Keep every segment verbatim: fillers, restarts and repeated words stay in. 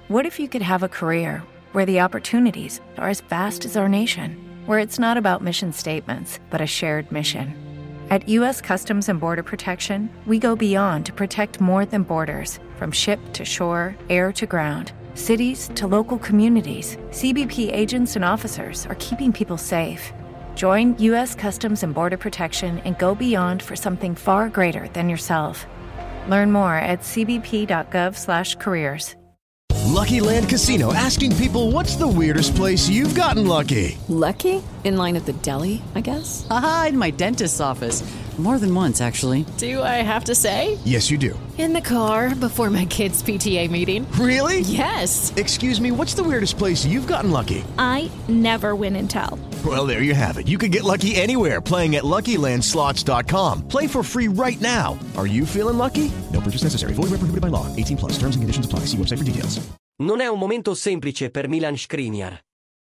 What if you could have a career where the opportunities are as vast as our nation, where it's not about mission statements, but a shared mission? At U S Customs and Border Protection, we go beyond to protect more than borders. From ship to shore, air to ground, cities to local communities, C B P agents and officers are keeping people safe. Join U S Customs and Border Protection and go beyond for something far greater than yourself. Learn more at c b p dot gov slash careers. Lucky Land Casino, asking people, what's the weirdest place you've gotten lucky? Lucky? In line at the deli, I guess? Aha, in my dentist's office. More than once, actually. Do I have to say? Yes, you do. In the car before my kids' P T A meeting. Really? Yes. Excuse me, what's the weirdest place you've gotten lucky? I never win and tell. Well, there you have it. You can get lucky anywhere, playing at lucky land slots dot com. Play for free right now. Are you feeling lucky? No purchase necessary. Void where prohibited by law. eighteen plus. Terms and conditions apply. See website for details. Non è un momento semplice per Milan Skriniar.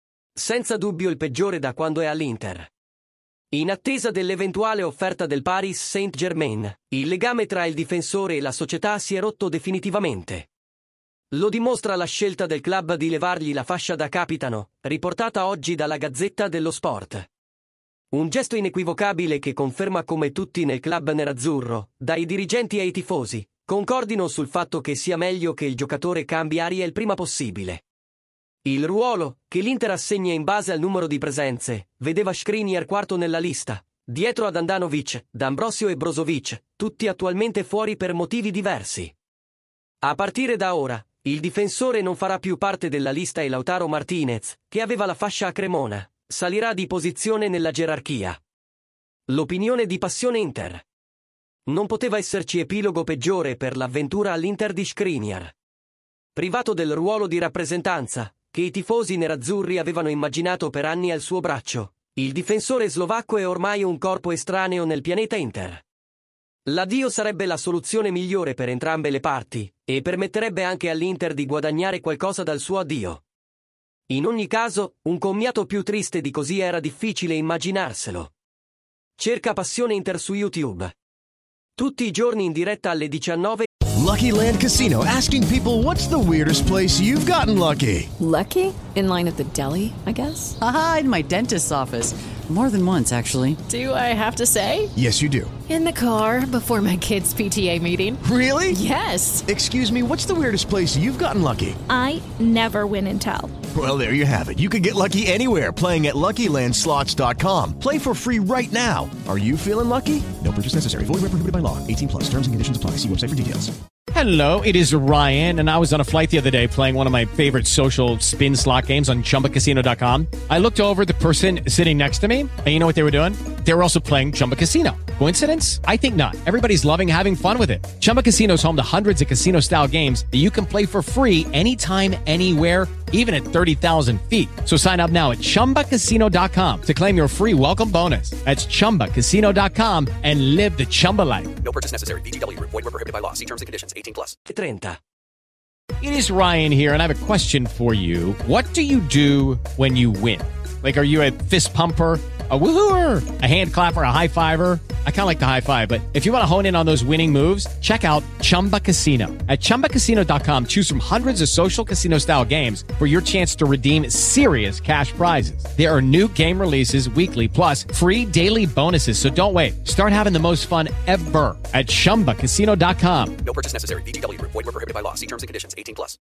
Senza dubbio il peggiore da quando è all'Inter. In attesa dell'eventuale offerta del Paris Saint-Germain, il legame tra il difensore e la società si è rotto definitivamente. Lo dimostra la scelta del club di levargli la fascia da capitano, riportata oggi dalla Gazzetta dello Sport. Un gesto inequivocabile che conferma come tutti nel club nerazzurro, dai dirigenti ai tifosi, concordino sul fatto che sia meglio che il giocatore cambi aria il prima possibile. Il ruolo, che l'Inter assegna in base al numero di presenze, vedeva Skriniar quarto nella lista, dietro ad Andanovic, D'Ambrosio e Brozovic, tutti attualmente fuori per motivi diversi. A partire da ora, il difensore non farà più parte della lista e Lautaro Martinez, che aveva la fascia a Cremona, salirà di posizione nella gerarchia. L'opinione di Passione Inter. Non poteva esserci epilogo peggiore per l'avventura all'Inter di Skriniar. Privato del ruolo di rappresentanza, che i tifosi nerazzurri avevano immaginato per anni al suo braccio, il difensore slovacco è ormai un corpo estraneo nel pianeta Inter. L'addio sarebbe la soluzione migliore per entrambe le parti, e permetterebbe anche all'Inter di guadagnare qualcosa dal suo addio. In ogni caso, un commiato più triste di così era difficile immaginarselo. Cerca Passione Inter su YouTube. Tutti i giorni in diretta alle diciannove. Lucky Land Casino, asking people, what's the weirdest place you've gotten lucky? Lucky? In line at the deli, I guess? Aha, in my dentist's office. More than once, actually. Do I have to say? Yes, you do. In the car before my kids' P T A meeting. Really? Yes. Excuse me, what's the weirdest place you've gotten lucky? I never win and tell. Well, there you have it. You can get lucky anywhere, playing at lucky land slots dot com. Play for free right now. Are you feeling lucky? No purchase necessary. Void where prohibited by law. eighteen plus. Terms and conditions apply. See website for details. Hello, it is Ryan, and I was on a flight the other day playing one of my favorite social spin slot games on chumba casino dot com. I looked over at the person sitting next to me, and you know what they were doing? They were also playing Chumba Casino. Coincidence? I think not. Everybody's loving having fun with it. Chumba Casino is home to hundreds of casino-style games that you can play for free anytime, anywhere, even at thirty thousand feet. So sign up now at chumba casino dot com to claim your free welcome bonus. That's chumba casino dot com and live the Chumba life. No purchase necessary. V G W. Void where prohibited by law. See terms and conditions. eighteen plus. trenta. It is Ryan here, and I have a question for you. What do you do when you win? Like, are you a fist pumper, a woohooer, a hand clapper, a high fiver? I kind of like the high five, but if you want to hone in on those winning moves, check out Chumba Casino. At chumba casino dot com, choose from hundreds of social casino-style games for your chance to redeem serious cash prizes. There are new game releases weekly, plus free daily bonuses, so don't wait. Start having the most fun ever at chumba casino dot com. No purchase necessary. V G W. Void where prohibited by law. See terms and conditions. eighteen plus.